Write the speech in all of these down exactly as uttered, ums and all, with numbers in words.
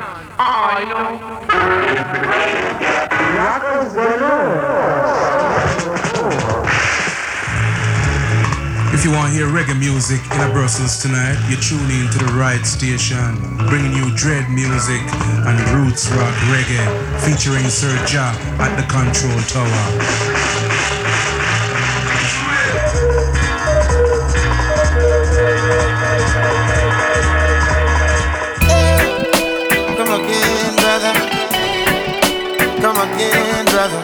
I know. If you want to hear reggae music in a Brussels tonight, you tune in to the right station, bringing you dread music and roots rock reggae, featuring Sir Ja at the control tower. Come again, brother. Come again, brother.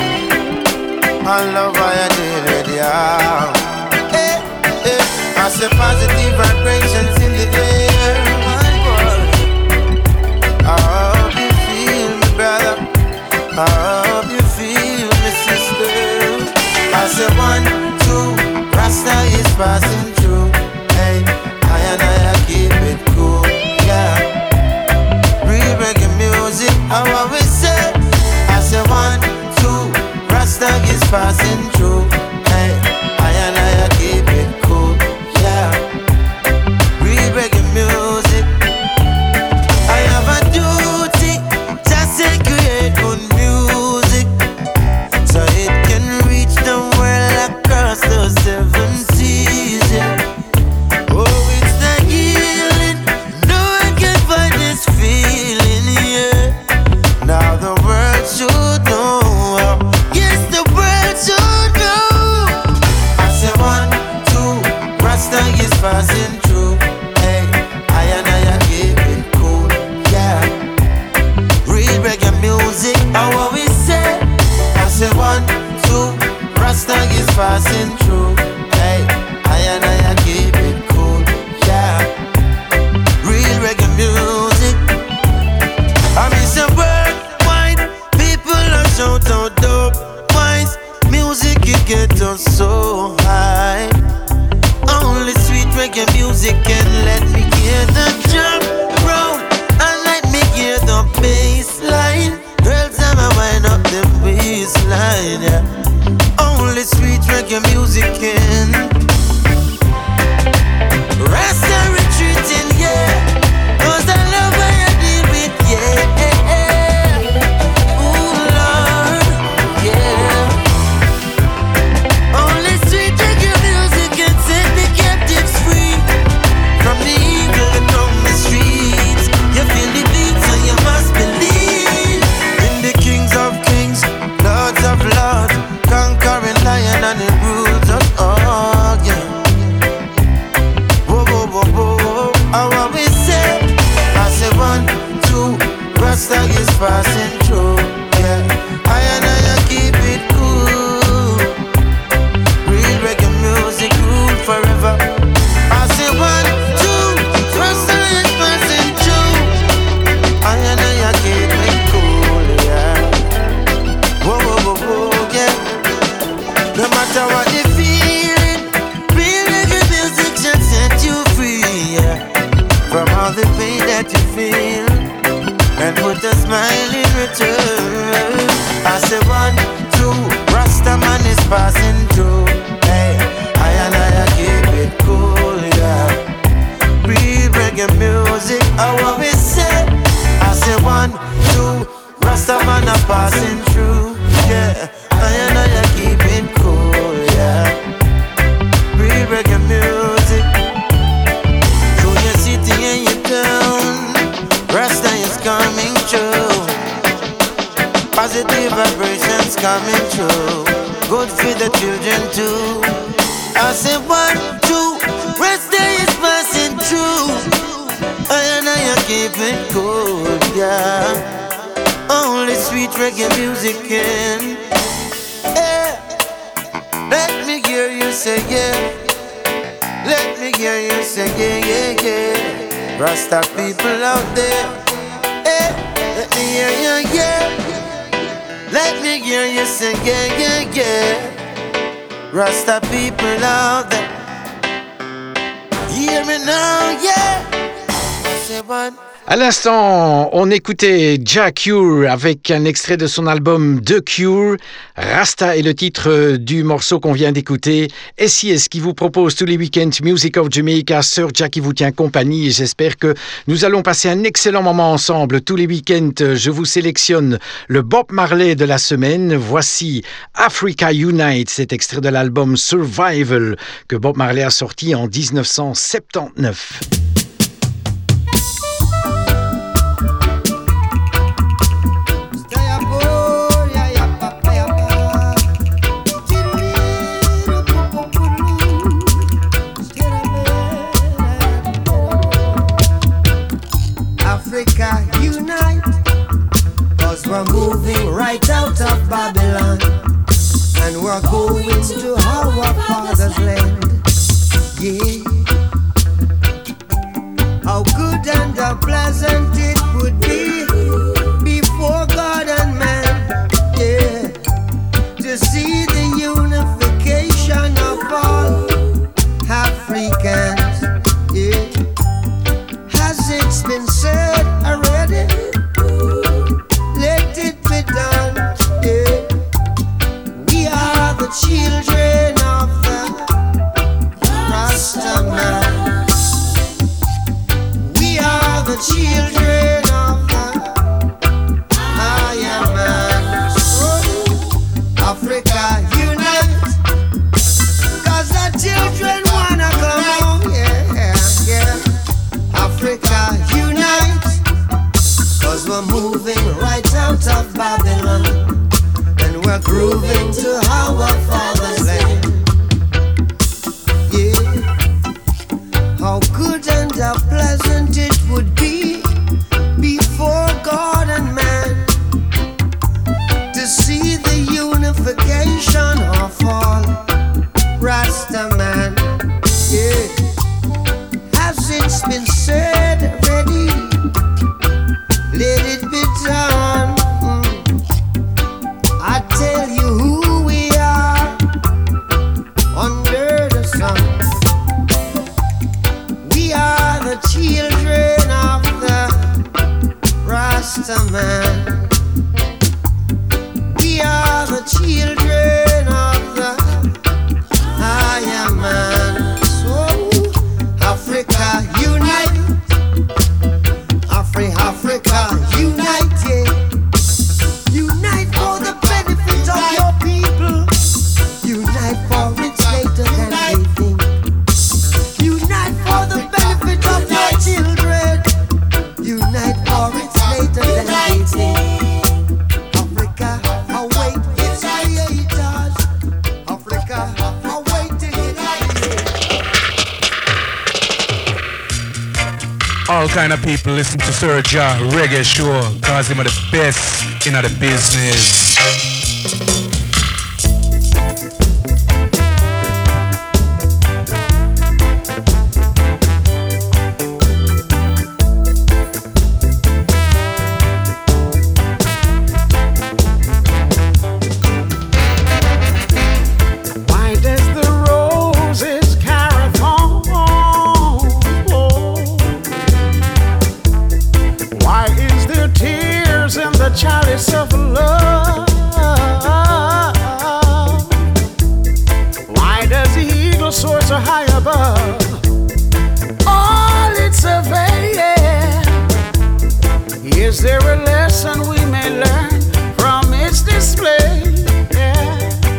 I love how you did it, yeah. Hey, hey. I say positive vibrations in the air, my boy. I hope you feel me, brother. I hope you feel me, sister. I say one, two, Rasta is passing through. Hey, I and I keep it cool, yeah. Real reggae music, how I we say. I say one, two, Rasta is passing through. Hey, I and I keep it cool, yeah. Real reggae music. I have a duty, just to create good music, so it can reach the world across the seven seas, yeah. Oh, it's the healing, no one can find this feeling, yeah. Now the world should know, yes, the world should know. I say one, two, Rasta is passing through. Hey, I and I keep it cool, yeah. Real reggae music, how we say. I say one, two, Rasta is passing through. Hey, I and I keep it cool, yeah. Real reggae music. I miss a word, wine. People are shout out dope wines. Music, it get us so high. Only sweet reggae music can let me hear the drum roll and let me hear the bass line. Girls, I'ma wind up the waistline, yeah. Only sweet reggae music can. Rasta retreating, yeah. Cause I love how you deal with, yeah. Ooh, Lord, yeah. Only sweet reggae music can set the captives free from the evil and on the streets. You feel the beat, so you must believe in the kings of kings, lords of lords, conquering lion and the rules of all, yeah. Whoa, whoa, whoa, whoa, how we say? I say one, two, Rasta is passing through, yeah. I and I keep it cool. Real reggae music rule forever. I say one, two, Rasta is passing through. I and I keep it cool, yeah. Whoa, whoa, whoa, whoa, yeah. No matter what you feeling, real reggae music should set you free, yeah. From all the pain that you feel, and put a smile in return. I say one, two, Rasta man is passing through. Hey, I and I keep it cool, yeah. Real reggae music, how we say. I say one, two, Rasta man are passing through, yeah. I and I keep it cool, yeah. Real reggae music. Through your city and your town, Rasta is coming true. Positive vibrations coming true. Good for the children too. I say one, two, Rasta is passing through. I and I keep it cool, yeah. Only sweet reggae music can. Yeah. Let me hear you say yeah. Let me hear you say yeah, yeah, yeah. Rasta people out there, eh? Let me hear you, yeah. Let me hear you say yeah, yeah, yeah. Rasta people out there, hear me now, yeah. I say one. À l'instant, on écoutait Jah Cure avec un extrait de son album The Cure. Rasta est le titre du morceau qu'on vient d'écouter. S I S qui vous propose tous les week-ends Music of Jamaica, Sir Jah qui vous tient compagnie. Et j'espère que nous allons passer un excellent moment ensemble. Tous les week-ends, je vous sélectionne le Bob Marley de la semaine. Voici Africa Unite, cet extrait de l'album Survival que Bob Marley a sorti en dix-neuf cent soixante-dix-neuf. Africa unite, cause we're moving right out of Babylon, and we're going to our father's land. Yeah. How good and how pleasant it would be before God and man, yeah, to see the unification of all Africans, yeah. Has it been said already? Let it be done, yeah. We are the children of the Rasta man. We are the children of the Iron Man. Oh, Africa unite, cause the children wanna come home, yeah, yeah. Africa unite, cause we're moving right out of Babylon, and we're grooving to our father's land. Yeah. How good and how pleasant it would be before God and man to see the unification of all Rasta man. Yeah. Has it been said already? Let it be done. Mm. I tell you who we are under the sun. We are the children of the Rasta man. We are the children of the Iron Man. So Africa unite, Afri Africa unite, yeah. Unite for the benefit of your people. Unite for it's later than they think. Unite for the benefit of your children. Unite for it's later than they think. Africa, await its creators. Africa, awaiting its creators. All kind of people listen to Sir Jah Reggae Show, cause him are the best in the business. Why does the roses carry thorns? Why is there tears in the chalice of love? Why does the eagle soar so high above? All it's surveying. Is there a lesson we may learn from its display? Yeah.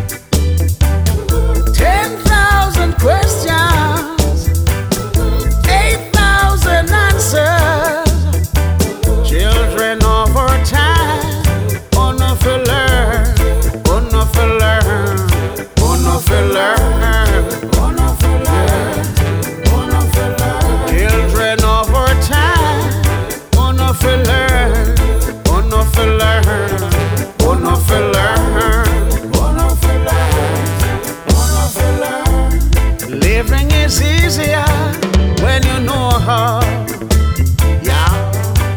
Ten thousand questions, eight thousand answers. Children of our time, oh no for learn, oh no for learn, oh no for learn, oh no for learn, oh no for learn. Children of our time, oh no for learn, oh no for learn, oh no for learn, oh no for learn, oh no for learn. Living is easier when you know how. Yeah.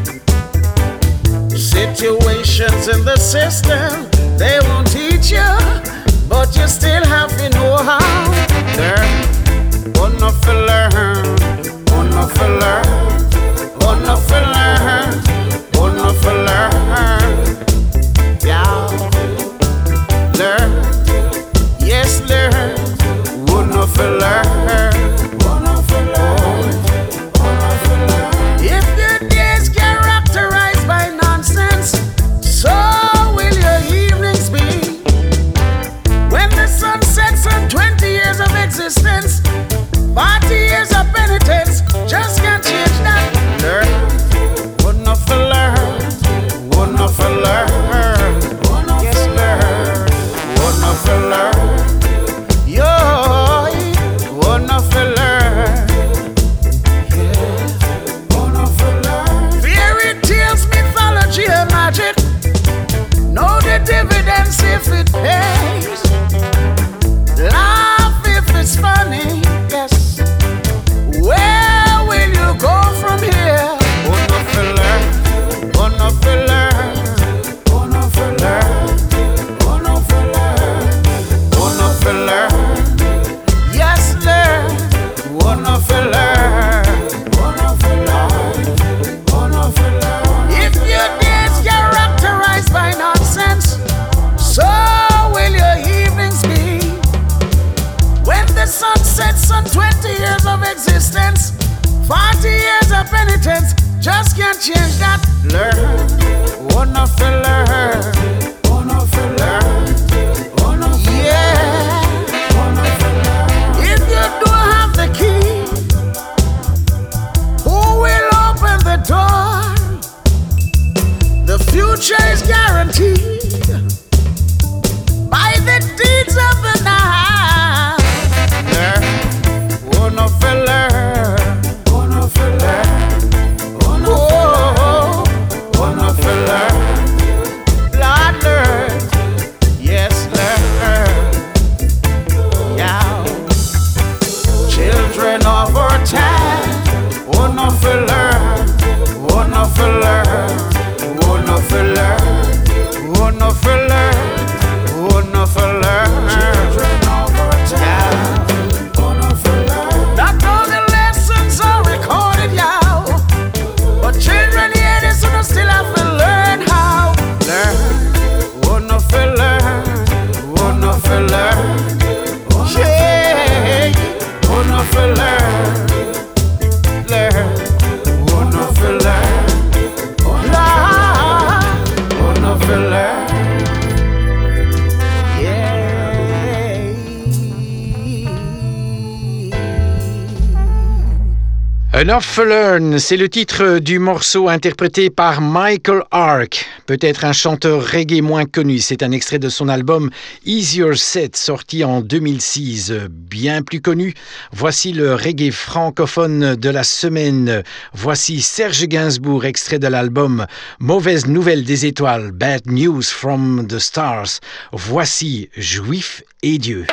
Situations in the system, they won't teach you, but you still have to know how. Learn, oh no for learn, oh no for learn, oh wanna feel learn, wanna feel learn, yeah, learn, yes learn, wanna feel learn, wanna feel learn, wanna feel learn. If your days characterized by nonsense, so will your evenings be. When the sun sets on twenty years of existence, forty years of penitence, just can't change that. Learn, wanna feel learn, wanna feel learn, yes learn, wanna feel learn, yo, wanna feel learn, yeah, wanna feel learn. Fairy tales, mythology and magic, know the dividends if it pays. Laugh if it's funny, yes. Where will you go from here? Wanna feel learn, wanna feel learn, wanna feel learn, wanna feel learn, wanna feel learn, yes learn, wanna feel learn, wanna feel learn, wanna feel learn. If your days characterized by nonsense, so will your evenings be. When the sun sets on twenty years of existence, forty years of penitence, just can't change that. Learn, wanna feel learn, wanna feel learn, wanna feel yeah, wanna feel learn. If you don't have the key, who will open the door? The future is guaranteed by the deeds of the night. Learn, wanna feel learn, wanna feel learn, wanna oh, wanna feel learn, Lord learn, yes learn, yeah. Children of our time, wanna feel learn, wanna feel learn, wanna feel learn, wanna feel learn, wanna feel learn. Children of our time, wanna feel learn. Not all the lessons are recorded, yeah, but children hear this and still have to learn how. Learn, wanna feel learn, wanna feel learn, yeah, wanna feel learn, learn, wanna feel learn, wanna feel learn. Enough to Learn, c'est le titre du morceau interprété par Michael Ark, peut-être un chanteur reggae moins connu. C'est un extrait de son album Easier Set, sorti en deux mille six. Bien plus connu, voici le reggae francophone de la semaine. Voici Serge Gainsbourg, extrait de l'album Mauvaise Nouvelle des Étoiles, Bad News from the Stars. Voici Juif et Dieu.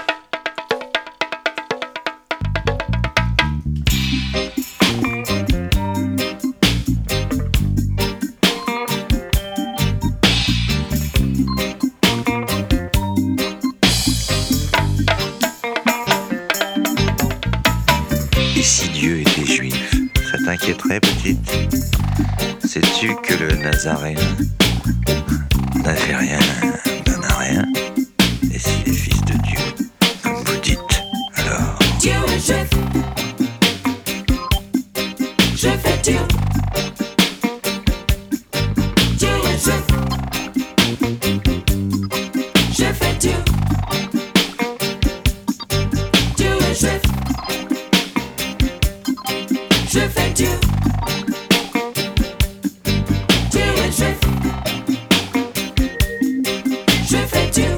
Et si Dieu était juif, ça t'inquiéterait, petite? Sais-tu que le Nazaréen n'a fait rien d'un à rien? Et s'il est fils de Dieu, comme vous dites, alors Dieu est juif. Je fais Dieu. Dieu est juif. Je fais Dieu. Dieu est juif. Je fais Dieu. Dieu est juif. Je fais Dieu.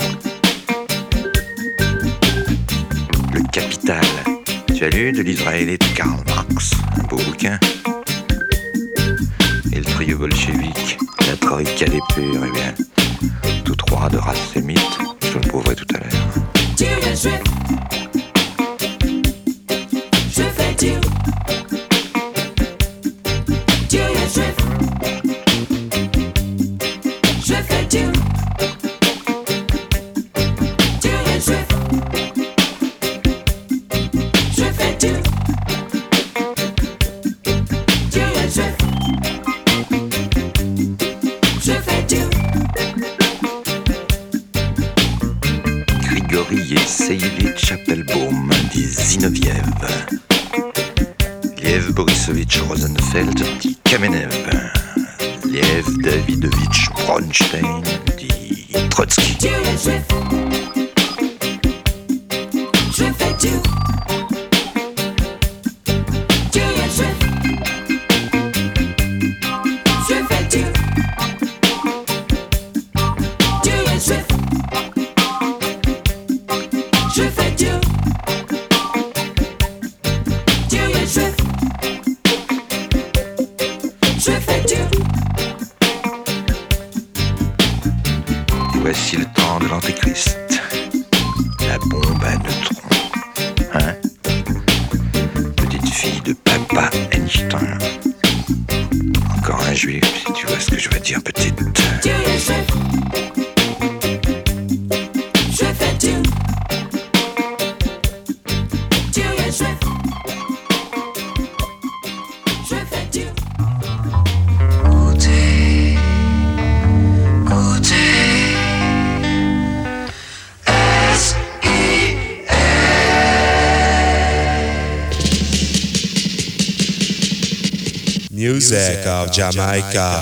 le Capital. Tu as lu de l'israélite Karl Marx, un beau bouquin. Et le trio bolchevique, la troïka des purs, eh bien, tous trois de race sémite, je vous le prouverai tout à l'heure. Dieu est juif. Je fais Dieu. Dieu est juif. Je fais Dieu. Dieu est juif. Je fais Dieu. Dieu est juif. Laurie et Seivitch Appelbaum, dit Zinoviev. Liev Borisovitch Rosenfeld, dit Kamenev. Liev Davidovitch Bronstein, dit Trotsky. Julian Swift. Je fais du. Julian Swift. Je fais du. Julian Swift. Je fais du. Julian Swift. Je fais du. Voici le temps de l'Antéchrist. La bombe à neutrons. Hein? Petite fille de papa Einstein. Encore un juif, si tu vois ce que je veux dire, petite. Julian Swift. Je fais du. Julian Swift. Je fais du. Music of Jamaica.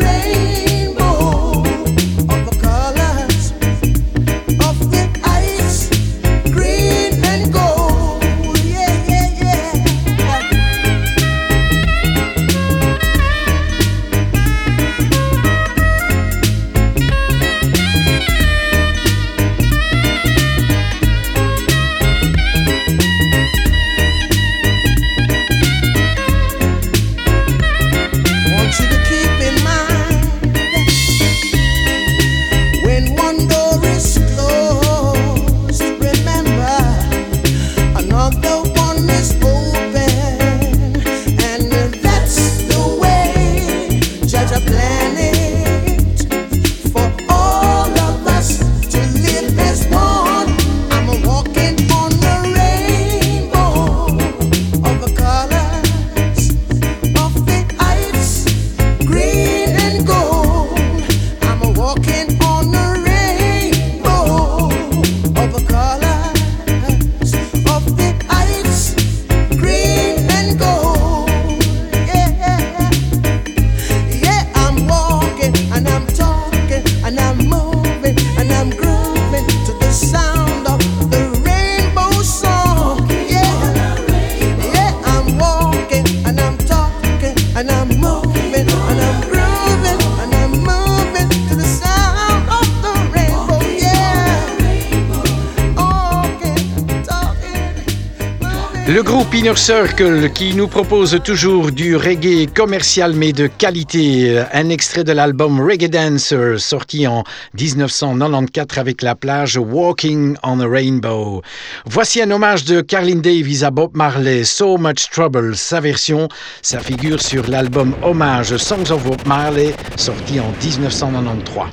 Ice Le groupe Inner Circle qui nous propose toujours du reggae commercial mais de qualité. Un extrait de l'album Reggae Dancer sorti en dix-neuf cent quatre-vingt-quatorze avec la plage Walking on a Rainbow. Voici un hommage de Carlin Davis à Bob Marley, So Much Trouble. Sa version, ça figure sur l'album Hommage Songs of Bob Marley sorti en dix-neuf cent quatre-vingt-treize.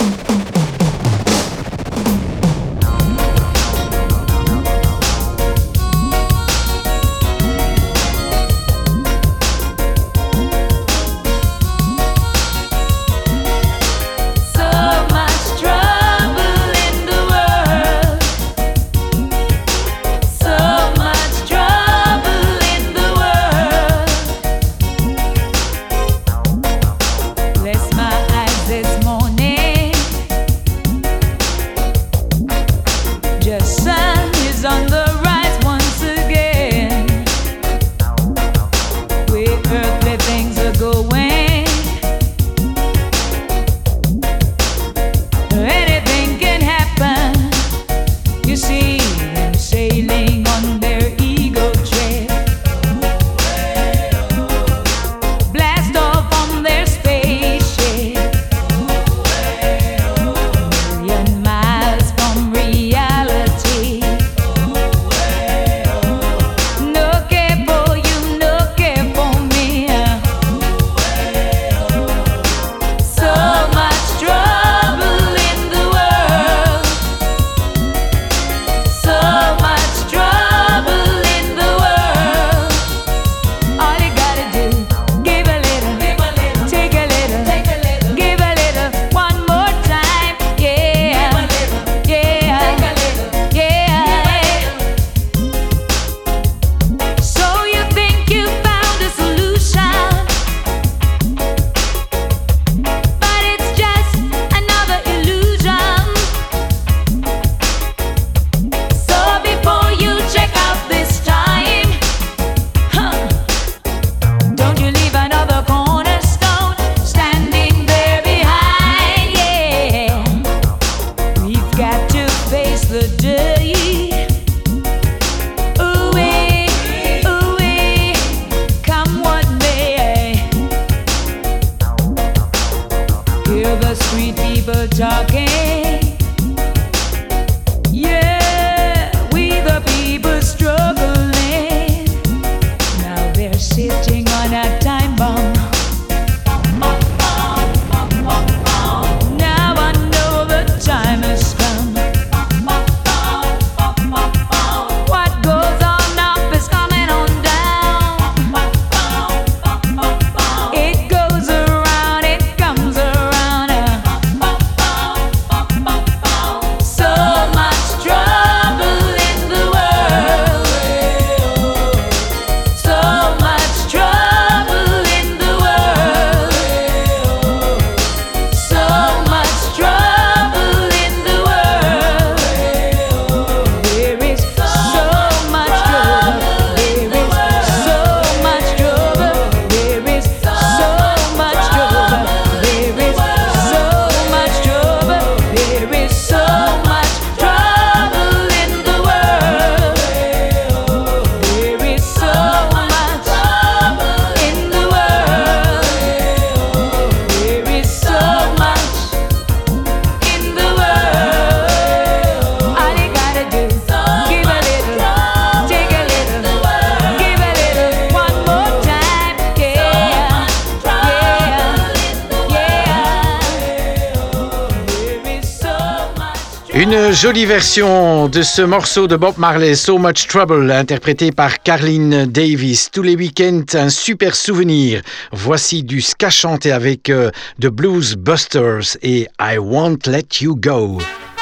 Une jolie version de ce morceau de Bob Marley, So Much Trouble, interprété par Carlin Davis. Tous les week-ends, un super souvenir. Voici du ska chanté avec euh, The Blues Busters et I Won't Let You Go.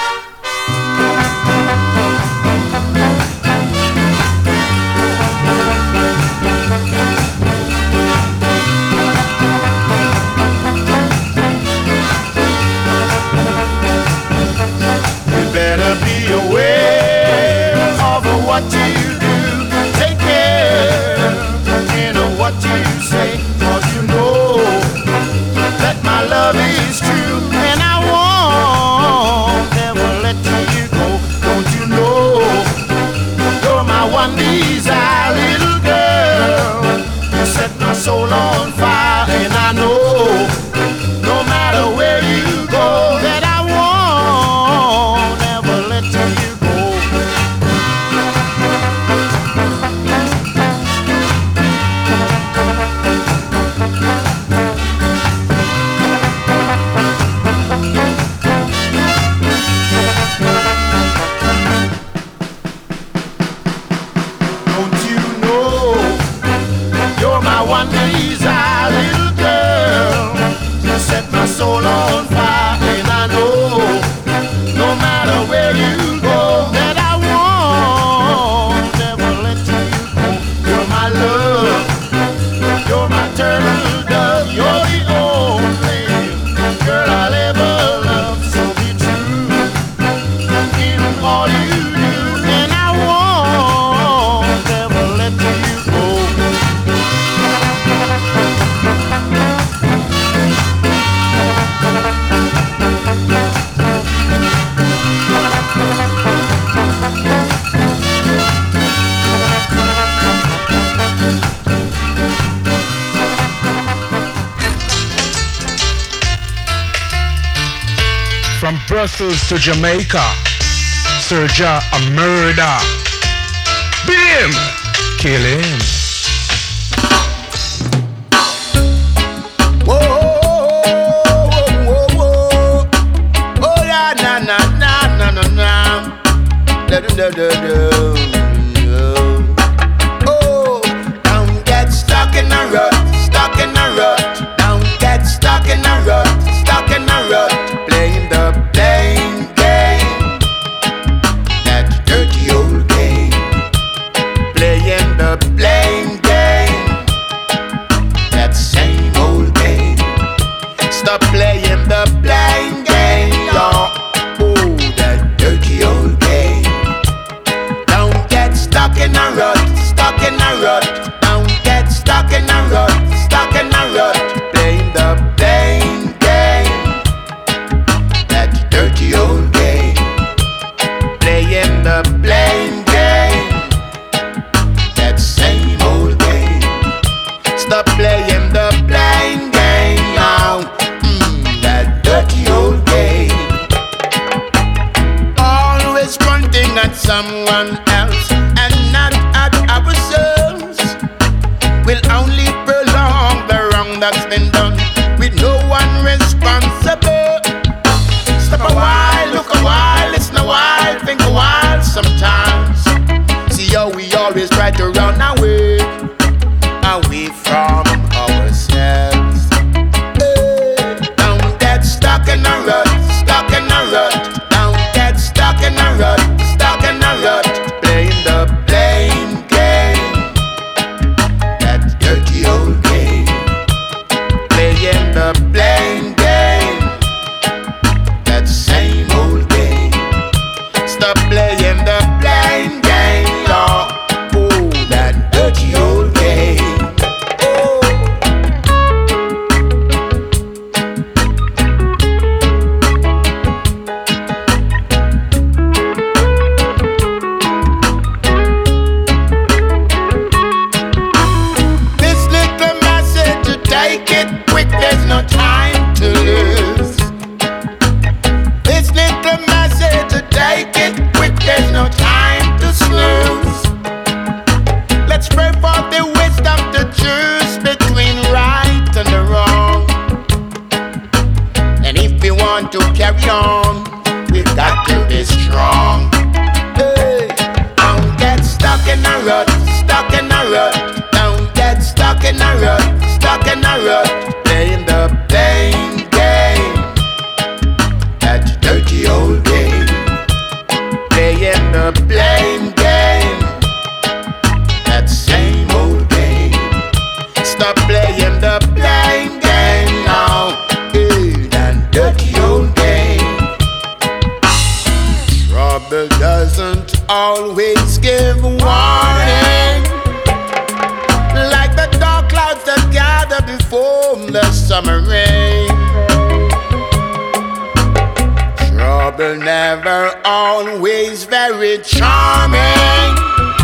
What you do, take care, you know what you say, 'cause you know that my love is true, and I won't Brussels to Jamaica. Serja a murder. Bim! Kill him. Whoa, whoa, whoa, whoa. Oh, yeah, na, na, na, na, na, na. Da, da, da, da, da. Oh, don't get stuck in a rut, stuck in a rut. Don't get stuck in a rut, stuck in a rut. Playing the blame game, that dirty old game. Playing the blame game, that same old game. Stop playing the blame game, y'all. Oh, that dirty old game. Don't get stuck in a rut, stuck in a rut. Don't get stuck in a rut, stuck in a rut. Playing the blame game, that dirty old game. Playing the blame game, that same old game. Stop playing the blame game now. Mm, that dirty old game. Always pointing at someone else and not at ourselves will only prolong the wrong that's been done with no one responsible. Stop a while, look a while, listen a while, think a while sometimes. See how we always try to run away, away from ourselves. Hey, don't get stuck in a rut, stuck in a rut. Don't get stuck in a rut, stuck in a rut. Playing the blame game, that dirty old game. Playing the blame game, that same old game. Stop playing the blame game, y'all. Oh, that dirty old game. Oh. This little message, to take it quick, there's no time to lose. This little message, to take it quick, there's no time to snooze. Let's pray for the wisdom to choose between right and the wrong. And if we want to carry on, we've got to be strong. Hey, don't get stuck in a rut, stuck in a rut. Don't get stuck in a rut, stuck in a rut. Playing the blame game, that dirty old game. Playing the blame game, that same old game. Stop playing the blame game now. Hey, that dirty old game. Trouble doesn't always give warning, like the dark clouds that gather before the summer rain. Trouble never always very charming,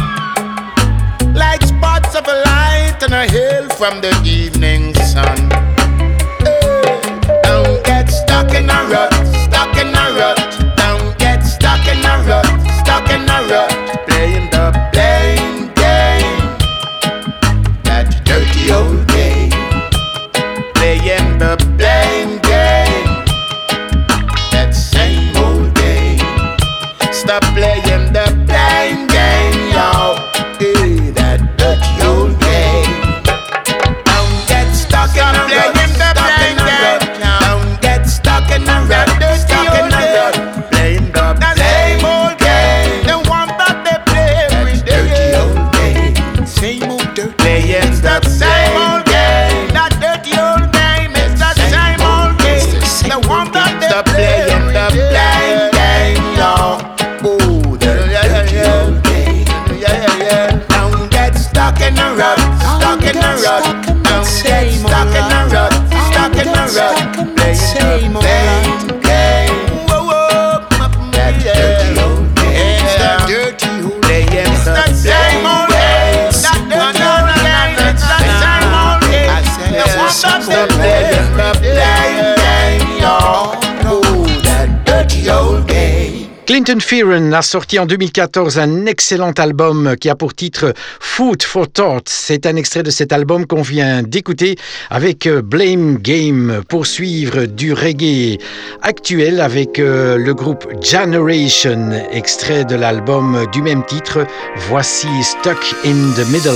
like spots of light on a hill from the evening sun. Hey, don't get stuck in a rut, stuck in a rut. Don't get stuck in a rut, stuck in a rut. Playing the blame game, that dirty old game. Playing the blame game, that same old game. Stop playing the blame game, y'all. Hey, that dirty old game. Don't get stuck in a rut, stuck in a rut. Don't get stuck in a rut, stuck in a rut. Playing the blame old game, the one that they play every day. Dirty old game, same old dirty. Playing the same old game, that dirty old game is the same old game, the one that they play every day. Playing the blame game, y'all. Oh, the dirty old game. Quentin Fearon a sorti en deux mille quatorze un excellent album qui a pour titre Food for Thought. C'est un extrait de cet album qu'on vient d'écouter avec Blame Game pour suivre du reggae actuel avec euh, le groupe Generation, extrait de l'album du même titre. Voici Stuck in the Middle.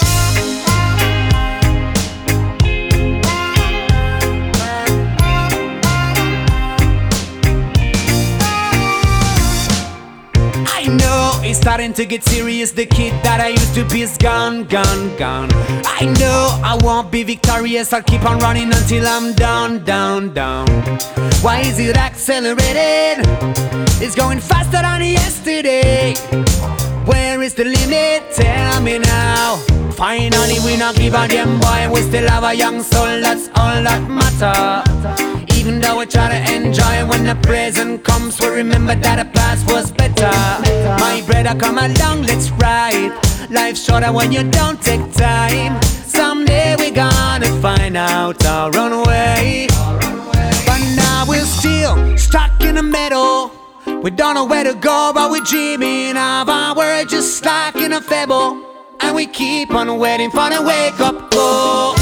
It's starting to get serious. The kid that I used to be is gone, gone, gone. I know I won't be victorious. I'll keep on running until I'm down, down, down. Why is it accelerated? It's going faster than yesterday. Where is the limit? Tell me now. Finally we not give a damn boy. We still have a young soul, that's all that matter. Even though we try to enjoy when the present comes, we remember that the past was better. My brother, come along, let's ride. Life's shorter when you don't take time. Someday we're gonna find out our own way. But now we're still stuck in the middle. We don't know where to go, but we're dreaming of our world just like in a fable. And we keep on waiting for the wake up call.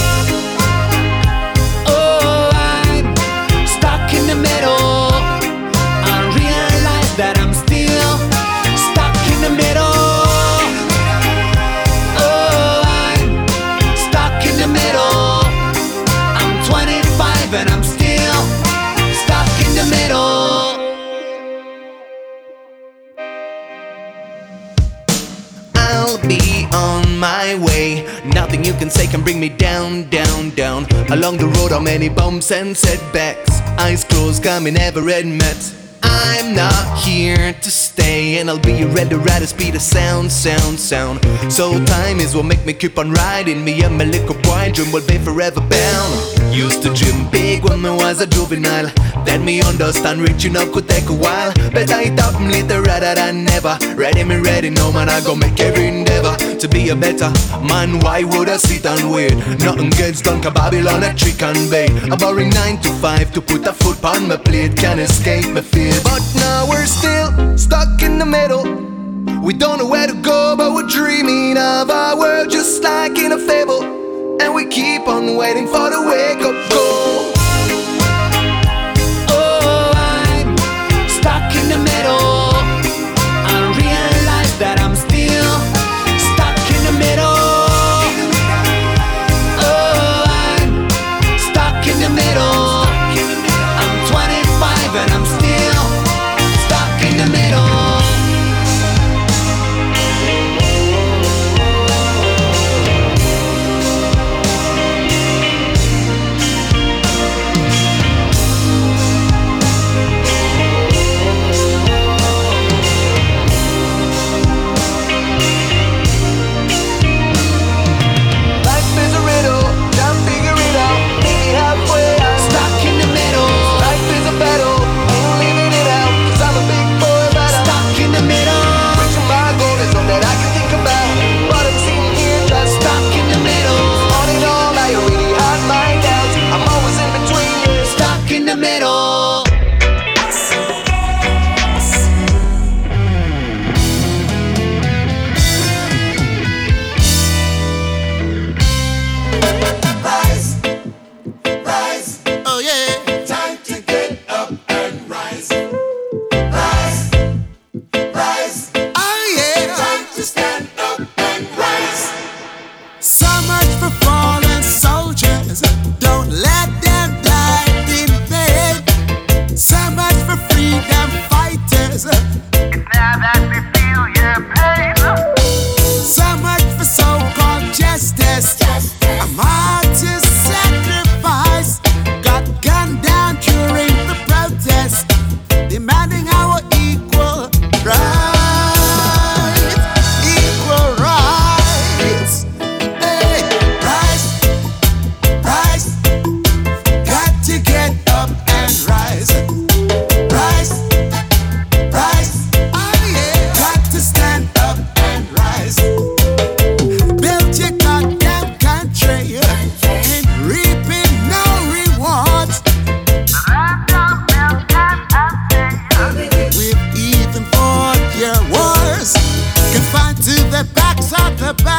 In the middle, I realize that I'm still stuck in the middle. Oh, I'm stuck in the middle. I'm twenty-five and I'm still stuck in the middle. I'll be on my way. Nothing you can say can bring me down, down, down. Along the road are many bumps and setbacks. Eyes closed, got me never admit I'm not here to stay, and I'll be ready at the speed of sound, sound, sound. So time is what make me keep on riding. Me and my little boy dream will be forever bound. Used to dream big when I was a juvenile. Then me understand reaching up could take a while. But I thought I'm later rather than never. Ready me ready, no man, I go make every endeavor to be a better man. Why would I sit and wait? Nothing gets done, cause Babylon a trick and bait. A boring nine to five to put a foot on my plate. Can't escape my fear. But now we're still stuck in the middle. We don't know where to go, but we're dreaming of our world just like in a fable. And we keep on waiting for the wake up call. Oh, I'm stuck in the middle. I realize that I'm still stuck in the middle. Oh, I'm stuck in the middle. I'm twenty-five and I'm still stuck in the middle.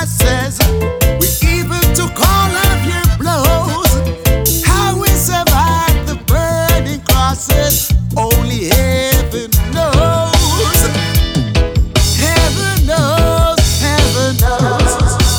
crosses. We even took all of your blows. How we survived the burning crosses, only heaven knows. Heaven knows, heaven knows.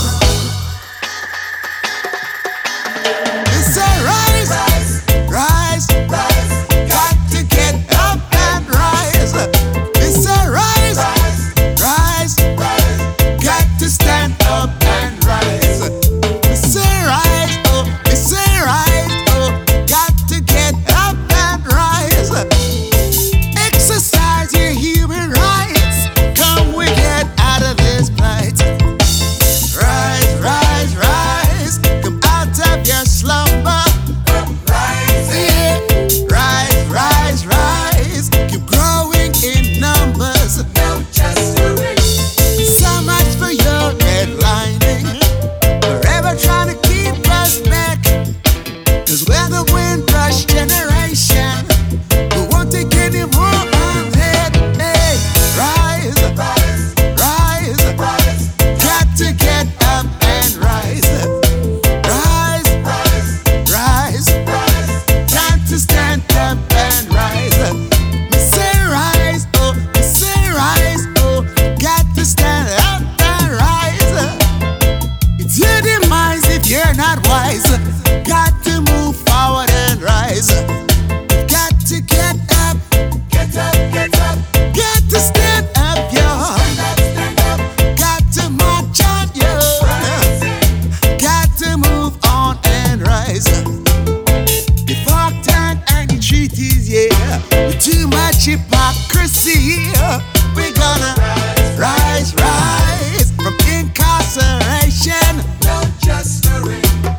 It's a rise, rise, rise. Got to get up and rise. It's a rise, rise, rise. Got to stand up and rise. It's a rise, oh, it's a rise, oh. Got to get up and rise. Exercise your human rights. Come, we get out of this plight. Rise, rise, rise. Come out of your slumber. Rise, yeah. Rise, rise, rise. Keep growing in numbers. No, just do it. So much for your headlining. Forever trying to keep us back. Cause we're the Windrush generation. We won't take any more of it. Hey, rise, rise, rise, rise. Got to get up and rise. Rise, rise, rise, rise. Time to stand up and rise. Me say rise, oh, me say rise, oh. Got to stand up and rise. It's your demise if you're not wise. Got to move forward and rise. Got to get up, get up, get up. Got to stand up, yo. Stand up, got to march on, yo. Got to move on and rise. The fuck time and the treaties, yeah. With too much hypocrisy, we're gonna rise, rise from incarceration. No justice.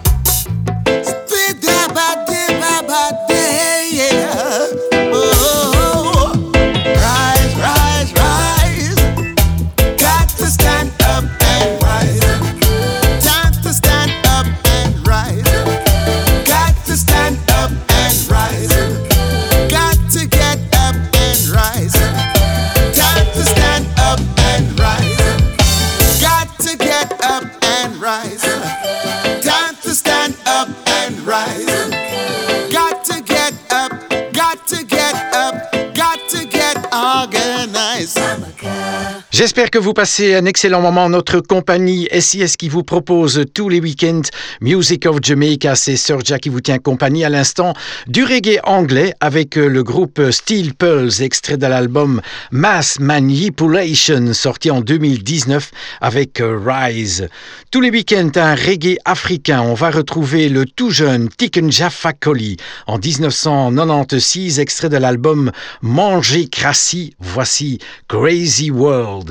Oh, rise, rise, rise. Got to stand up and rise. Time to stand up and rise. Got to stand up and rise. Got to get up and rise. Time to stand up and rise. Got to get up and rise. Time to stand up and rise. Got to get up, got to get up, got to get organized. J'espère que vous passez un excellent moment en notre compagnie. S I S qui vous propose tous les week-ends Music of Jamaica. C'est Serja qui vous tient compagnie à l'instant du reggae anglais avec le groupe Steel Pulse, extrait de l'album Mass Manipulation, sorti en deux mille dix-neuf avec Rise. Tous les week-ends, un reggae africain. On va retrouver le tout jeune Tiken Jah Fakoly en dix-neuf cent quatre-vingt-seize, extrait de l'album Manger Crassi. Voici Crazy World.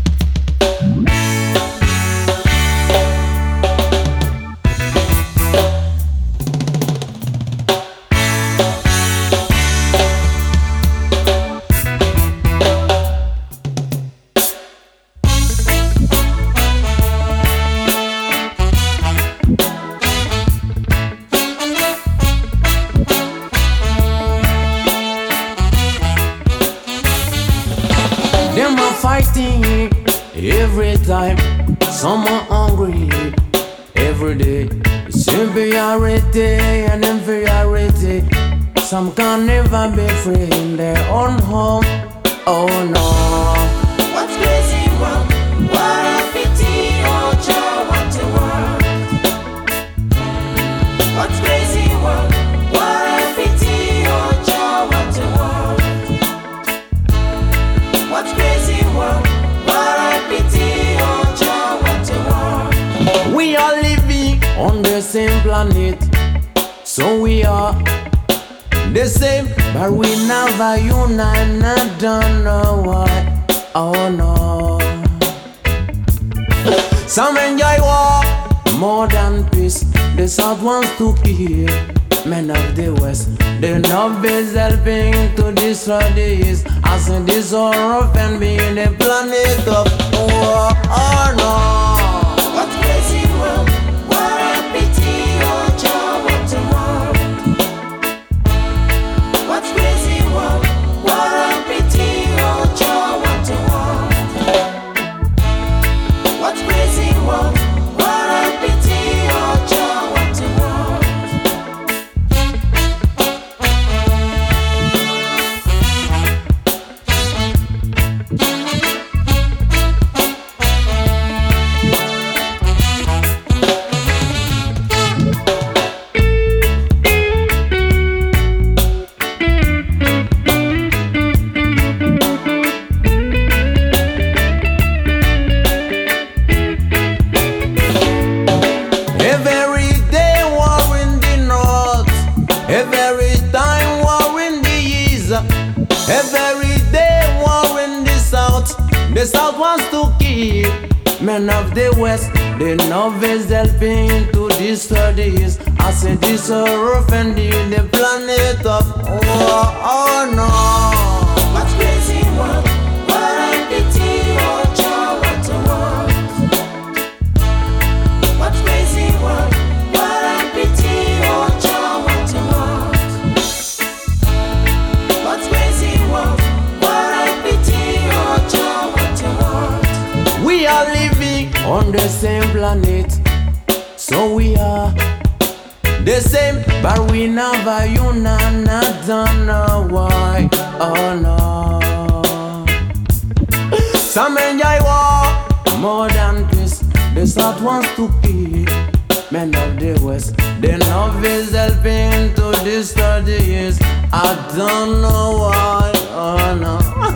Them are fighting every time. Some are hungry every day. Superiority and inferiority. Some can never be free in their own home. Oh no. What's crazy world? What a pity, oh Jah, what a world. What's crazy world? What a pity, oh Jah, what a world. What's crazy world? What a pity, oh Jah, what a world. We are living on the same planet, so we are the same, but we never unite. I don't know why. Oh no. Some enjoy war more than peace. The South wants to kill men of the West. The North is helping to destroy the East. I say this all rough and being the planet of war. Oh no. What's crazy world? What a pity, oh Jah, what a world. What's crazy world? What a pity, oh Jah, what a world. What's crazy world? South wants to keep men of the West. The North is helping to destroy the East. I say this earth and the planet of oh, oh no. What's crazy world? What I pity, oh Jah, what a world. What's crazy world? What I pity, oh Jah, what a world. What's crazy world? What I pity, oh Jah, what a world. We are living on the same planet, so we are the same, but we never unite. I don't know why. Oh no. Some enjoy war more than peace. The South wants to keep men of the West. The North is helping to destroy the East. I don't know why. Oh no.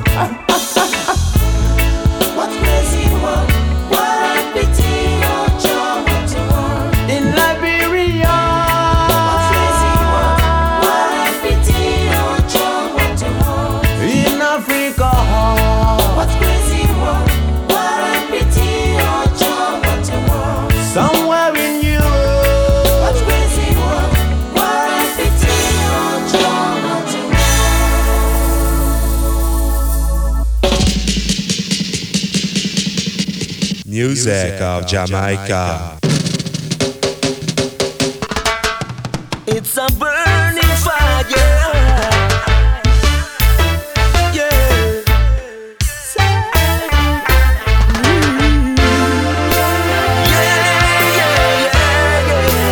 What's crazy world? What I pity, oh Jah, what a world. In Liberia. What's crazy world? What I pity, oh Jah, what a world. In Africa. What's crazy world? What I pity, oh Jah, what a world. Somewhere in Europe. What's crazy world? What I pity, oh Jah, what a world. Music of Jamaica. It's a burning fire. Yeah. Mm. Yeah, yeah, yeah,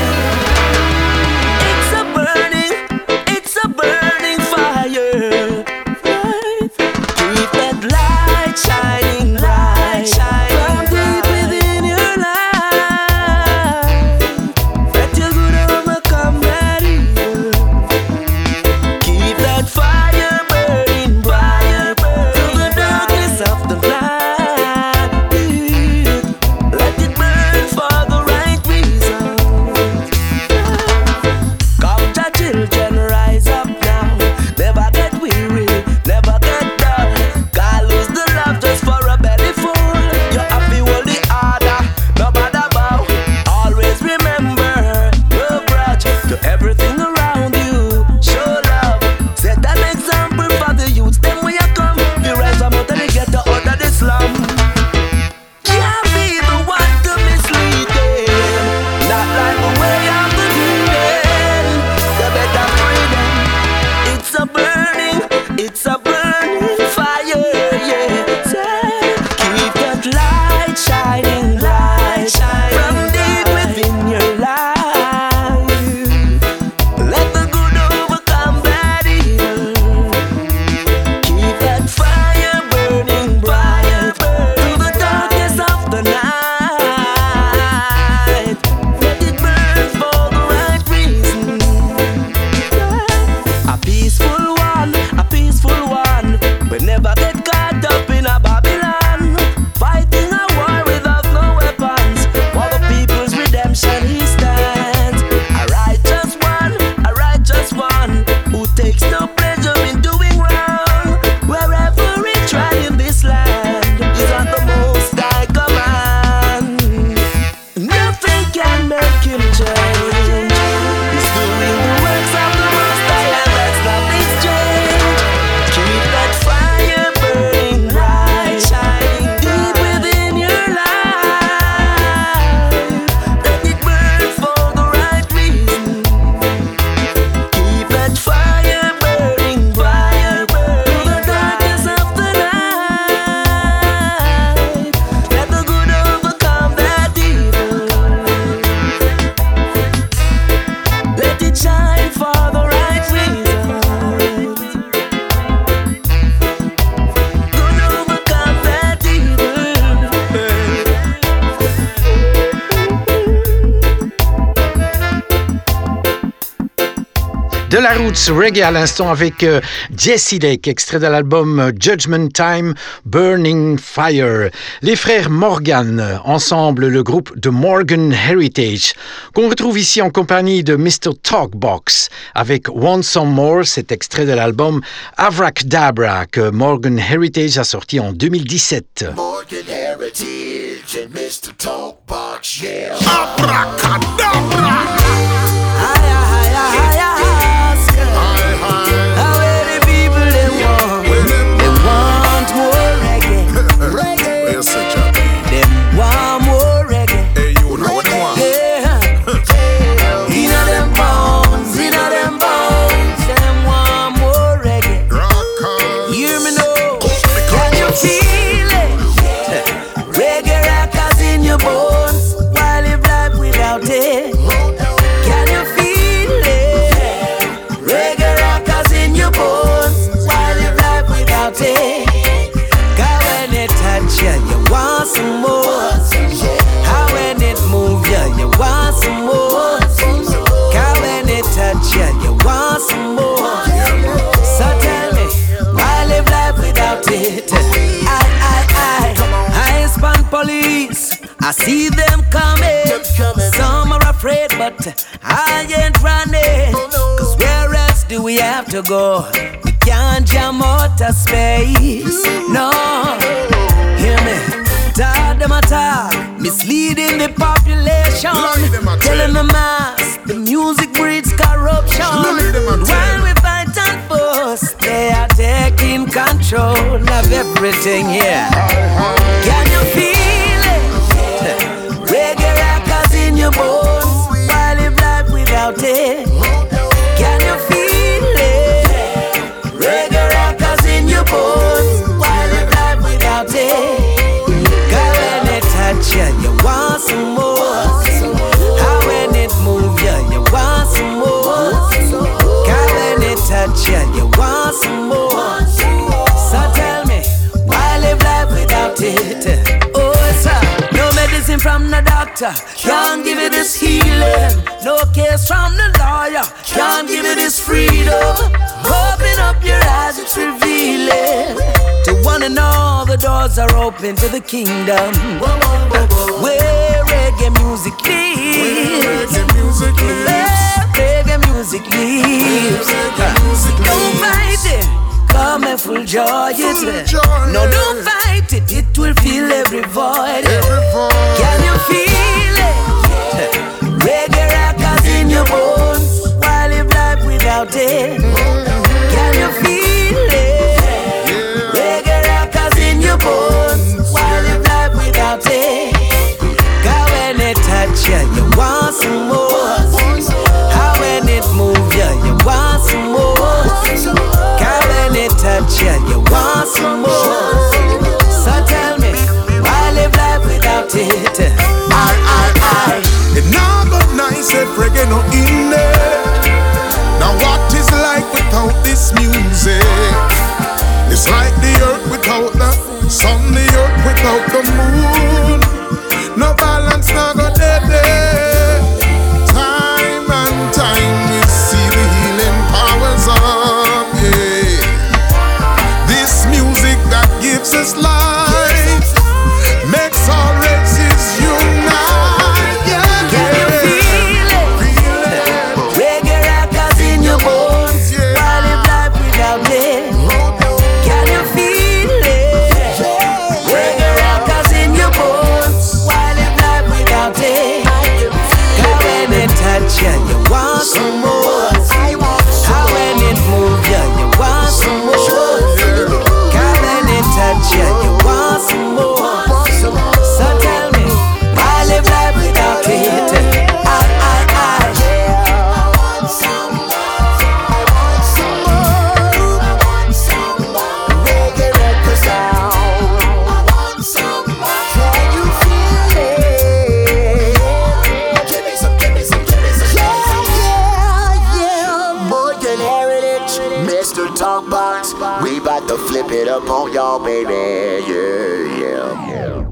yeah. It's a burning, it's a burning fire. Right. Keep that light shining, light shining from deep within your life. That you're good on my comrade. De la roots reggae à l'instant avec euh, Jesse Lake, extrait de l'album Judgment Time, Burning Fire. Les frères Morgan, ensemble le groupe The Morgan Heritage, qu'on retrouve ici en compagnie de mister Talkbox avec Want Some More, cet extrait de l'album Avracadabra que Morgan Heritage a sorti en deux mille dix-sept. Morgan Heritage and mister Talkbox, yeah. Abracadabra! Them want more reggae. Hey, you know what they want? Yeah. Inna them bones, inna them bones. Them want more reggae. Rockers. Hear me now. Can you feel it? Reggae rockers in your bones. Why live life without it? Can you feel it? Reggae rockers in your bones. Why live life without it? Yeah, you want some more. How when it move ya, yeah, you want some more. How when it touch ya, yeah, you want some more. So tell me, why live life without it? I, I, I, I span police. I see them coming. Some are afraid, but I ain't running. Cause where else do we have to go? We can't jam outer space. No. Hear me, talk them a talk, misleading the population, telling the mass the music breeds corruption. While we fight and fuss, they are taking control of everything here. Can you feel it? Reggae rockers in your bones. Why live life without it? Can you feel it? Reggae rockers in your bones. Why live life without it? Yeah, you want some more. How when it move ya, yeah, you want some more. How when it touch ya, yeah, you want some more. So tell me, why live life without it? Oh, sir, no medicine from the doctor can't give you this healing. No case from the lawyer can't give you this freedom. Open up your eyes, it's revealing. To one and all, the doors are open to the kingdom. Where reggae music lives. Where reggae music lives. Don't fight it, come and full joy it. No, don't fight it, it will fill every void. Can you feel it? Reggae rockers in your bones. Why live life without it? Can you feel it? Reggae rockers in your bones. Why live life without it? God, when it touch ya, you want some more. How when it move ya, you want some more. God, when it touch ya, you want some more. So tell me, why live life without it? I, I, I. It not but nice if reggae no in there. Now what is life without this music? It's like the earth without the sun, the earth without the moon. No balance, no go dead there. Time and time we see the healing powers of, yeah. This music that gives us life makes all races unite, yeah. Can you feel it? Reggae rockers in your bones. Why live life without it? Can you feel it? Reggae rockers in your bones. Why live life without it? God, when it touch ya, you want some more. How when it move ya, you want some more. God, when it touch ya, you want some more. So tell me, why live life without it? I, I, I. Morgan Heritage, mister Talkbox, we bout to flip it up on y'all, baby. Yeah, yeah, yeah.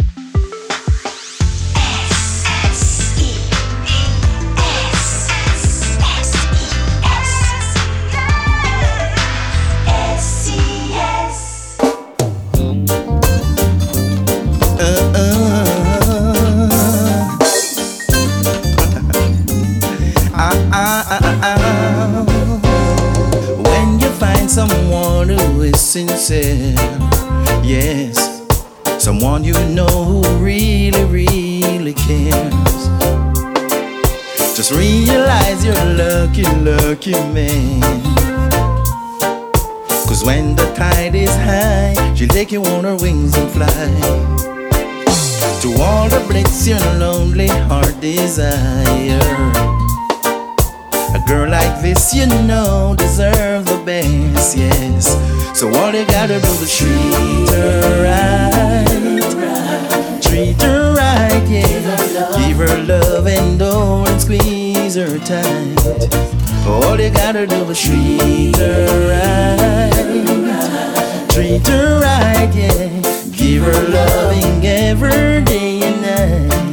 someone you know who really, really cares. Just realize you're a lucky, lucky man. Cause when the tide is high, she'll take you on her wings and fly to all the bliss your lonely heart desire. A girl like this, you know, deserves the best, yes. So all you gotta do is treat her right, treat her right, yeah. Give her love and don't squeeze her tight. All you gotta do is treat her right, treat her right, yeah. Give her loving every day and night.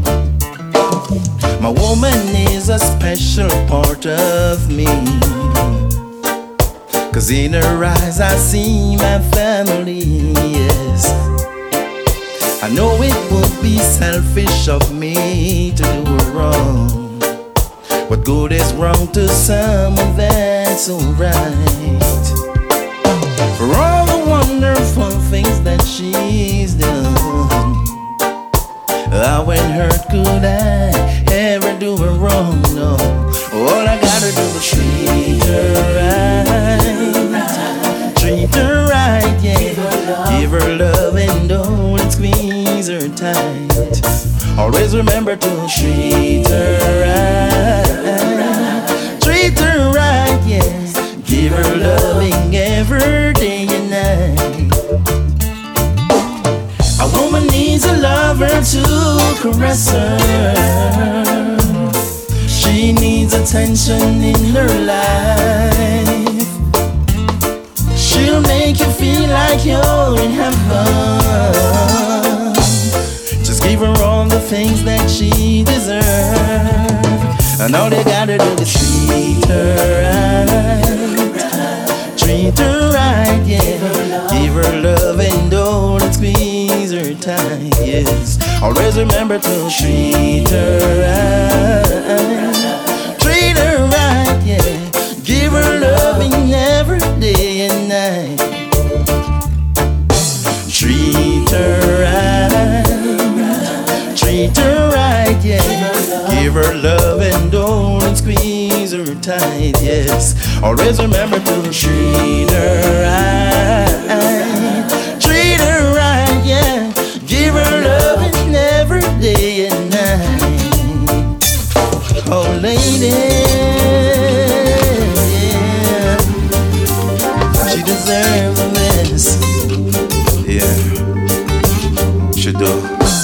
My woman is a special part of me, cause in her eyes I see my family, yes. I know it would be selfish of me to do her wrong. What good is wrong to someone that's so right? For all the wonderful things that she's done, how and hurt could I ever do her wrong? No, all I gotta do is treat her right, treat her right, yeah. Give her love and don't squeeze her tight. Always remember to treat her right, treat her right, yeah. Give her loving every day and night. A woman needs a lover to caress her. She needs attention in her life. She'll make you feel like you're in heaven. Just give her all the things that she deserves. And all you gotta do is treat her right, treat her right, yeah. Give her love and don't squeeze her tight, yes. Always remember to treat her right, treat her right, yeah. Give her loving every day and night. Treat her right, treat her right, yeah. Give her love and don't squeeze her tight, yes. Always remember to treat her right, treat her right, yeah. Give her loving every day and night. Oh, lady, yeah. She deserves the best. Yeah, she do.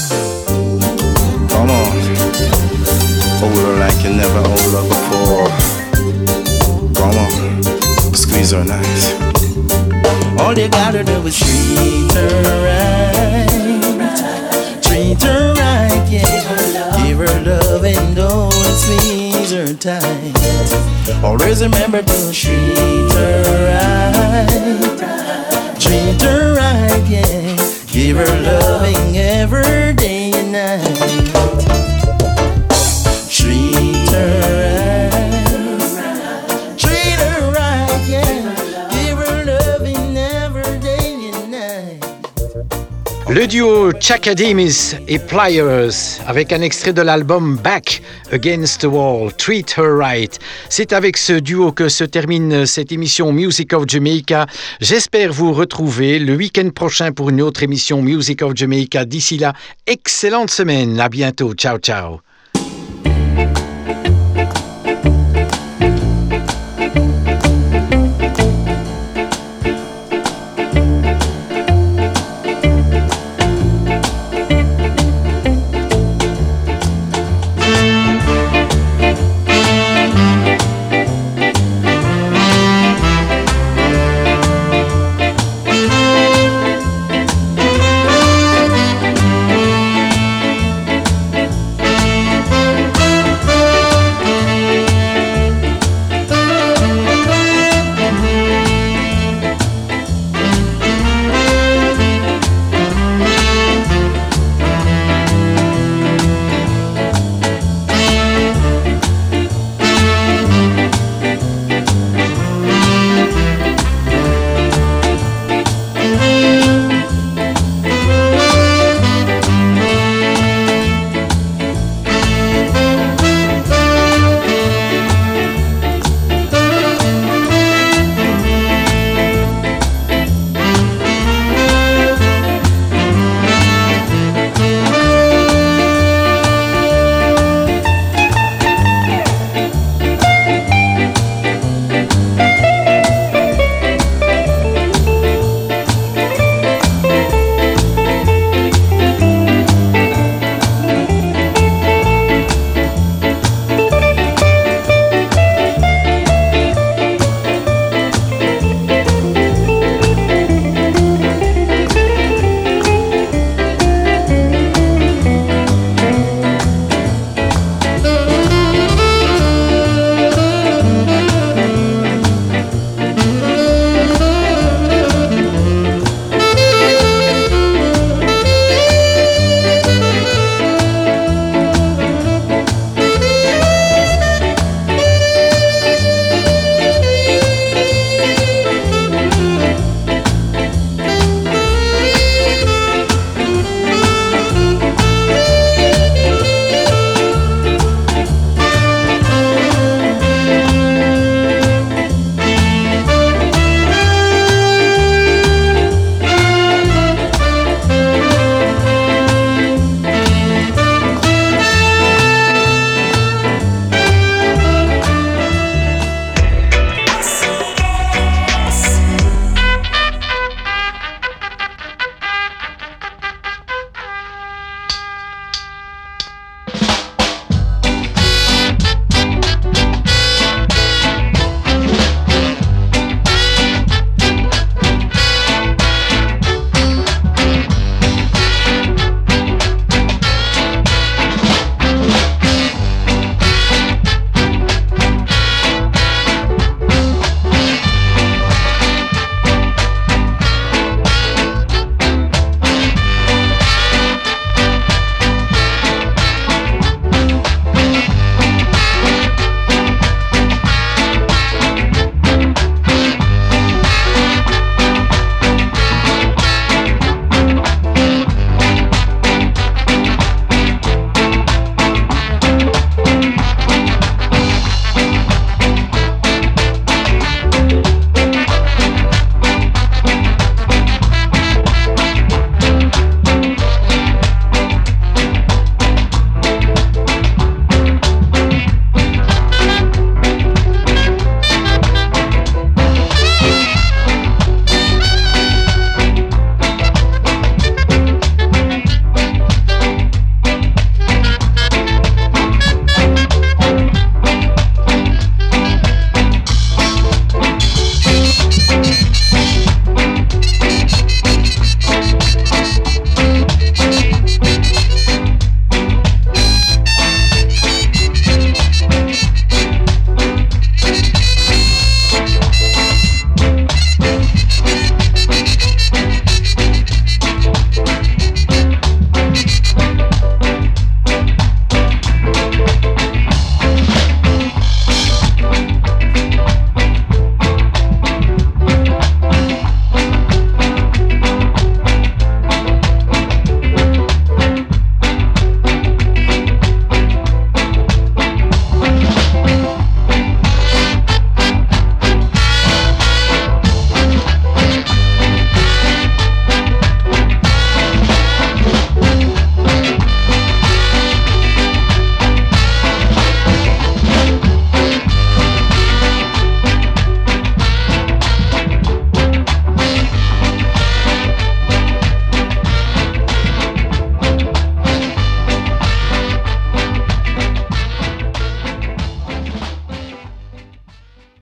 Come on, hold her like you never hold her before. Come on, squeeze her nice. All you gotta do is treat her right, treat her right, yeah. Give her love and don't squeeze her tight. Always remember to treat her right, treat her right, yeah. Give her loving every day and night. Treat her right, treat her right, yeah. Give her loving every day and night. Le duo Chaka Demus et Pliers avec un extrait de l'album Back Against the Wall, Treat Her Right. C'est avec ce duo que se termine cette émission Music of Jamaica. J'espère vous retrouver le week-end prochain pour une autre émission Music of Jamaica. D'ici là, excellente semaine. À bientôt. Ciao, ciao.